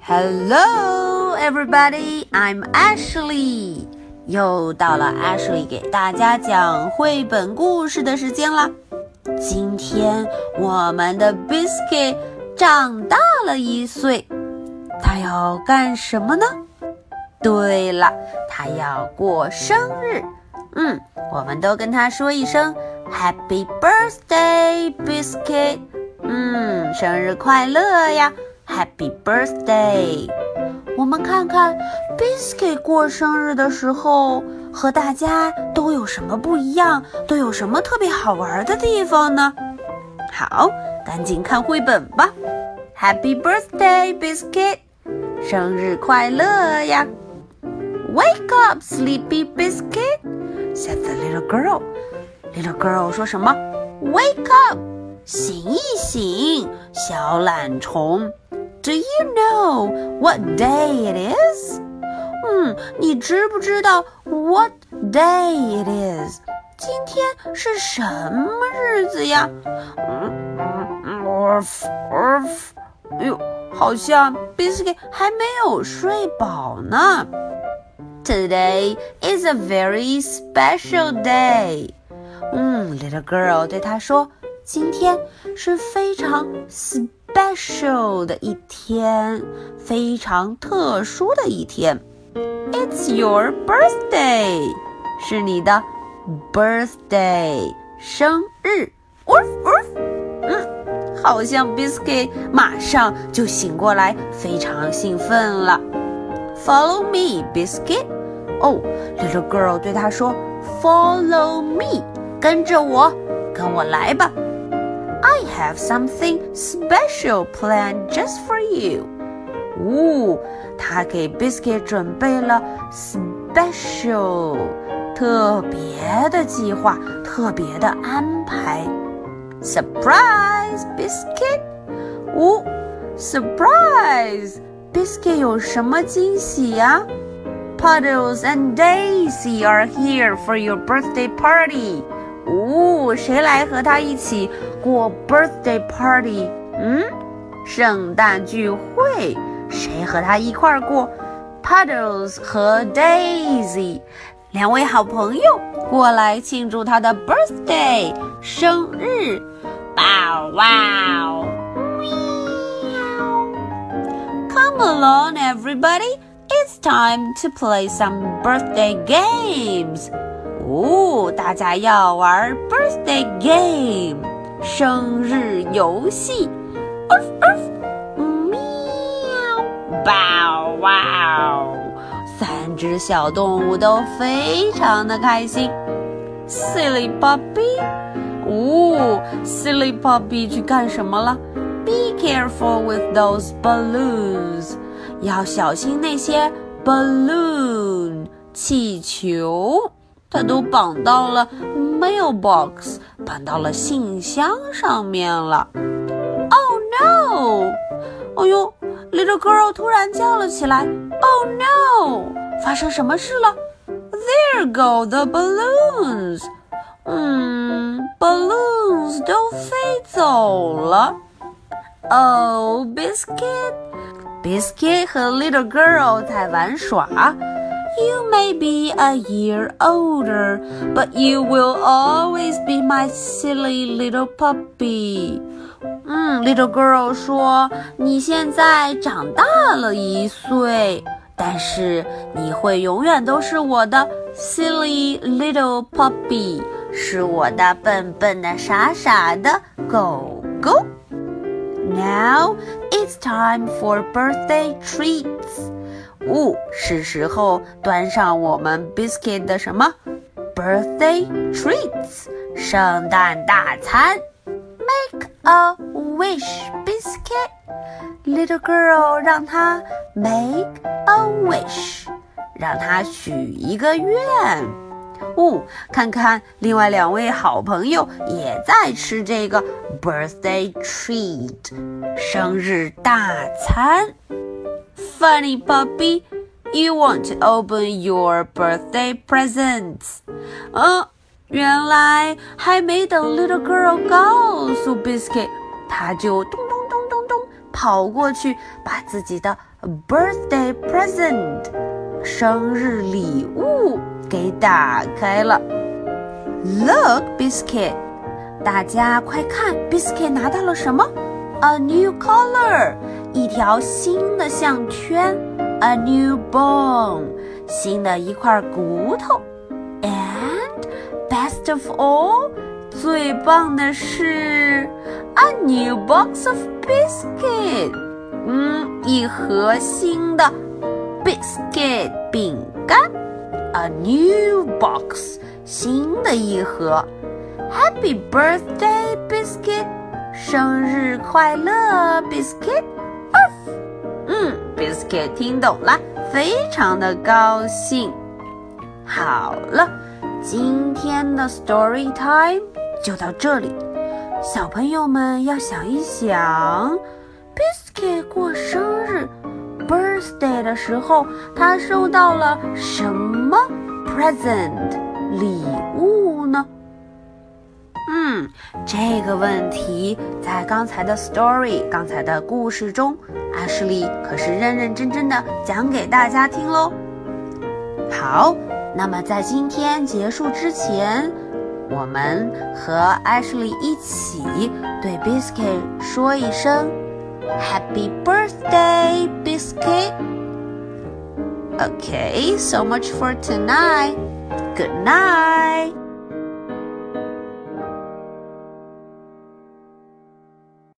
Hello, everybody. I'm Ashley. 又到了 Ashley 给大家讲绘本故事的时间啦。今天我们的 Biscuit 长大了1岁，他要干什么呢？对了，他要过生日。我们都跟他说一声 Happy Birthday, Biscuit。生日快乐呀！ Happy Birthday。 我们看看 Biscuit 过生日的时候和大家都有什么不一样，都有什么特别好玩的地方呢？好，赶紧看绘本吧。 Happy Birthday, Biscuit。 生日快乐呀！ Wake up, sleepy Biscuit, said the little girl. Little girl 说什么？ Wake up， 醒一醒，小懒虫。Do you know what day it is? 你知不知道 what day it is? 今天是什么日子呀？好像 Biscuit 还没有睡饱呢。Today is a very special day. Little girl 对他说，今天是非常special 的一天，非常特殊的一天。It's your birthday， 是你的 birthday， 生日。好像 Biscuit 马上就醒过来，非常兴奋了。Follow me, Biscuit。Little girl 对他说 Follow me， 跟着我，跟我来吧。I have something special planned just for you. 他给 Biscuit 准备了 special 特别的计划，特别的安排。Surprise, Biscuit. Surprise! Biscuit 有什么惊喜呀？Puddles and Daisy are here for your birthday party. 谁来和他一起过 birthday party？ 圣诞聚会，谁和他一块儿过？ Puddles 和 Daisy 两位好朋友过来庆祝他的 birthday 生日。Bow wow! Come along, everybody! It's time to play some birthday games. 大家要玩 birthday game 生日游戏。喵 Bow wow！ 3只小动物都非常的开心。Silly puppy， Silly puppy 去干什么了？ Be careful with those balloons， 要小心那些 balloon 气球，它都绑到了 mailbox， 绑到了信箱上面了。Oh no！ Little girl 突然叫了起来。Oh no！ 发生什么事了？ There go the balloons！ balloons 都飞走了。Oh, Biscuit 和 Little Girl 在玩耍。You may be a year older, but you will always be my silly little puppy. Little Girl 说，你现在长大了1岁，但是你会永远都是我的 silly little puppy， 是我的笨笨的傻傻的狗狗。Now it's time for birthday treats. 是时候端上我们 Biscuit 的什么 birthday treats 圣诞大餐。Make a wish, Biscuit. Little girl 让他 make a wish， 让他许一个愿。看看另外2位好朋友也在吃这个 birthday treat 生日大餐。Funny puppy, you want to open your birthday presents. 原来还没等 Little Girl 告诉 Biscuit， 他就咚咚咚咚咚跑过去把自己的 birthday present 生日礼物给打开了。 Look, Biscuit， 大家快看， Biscuit 拿到了什么？ A new collar， 一条新的项圈。 A new bone， 新的一块骨头。 And best of all， 最棒的是 A new box of biscuit， 一盒新的 biscuit 饼干。 A new box， 新的一盒。 Happy birthday biscuit， 生日快乐 biscuit。 Biscuit 听懂了，非常的高兴。好了，今天的 story time 就到这里。小朋友们要想一想， Biscuit 过生日 birthday 的时候，他收到了什么 present 礼物呢？这个问题在刚才的 story 刚才的故事中，阿什利可是认认真真的讲给大家听咯。好，那么在今天结束之前，我们和阿什利一起对 Biscuit 说一声 Happy birthday, Biscuit! Okay, so much for tonight. Good night!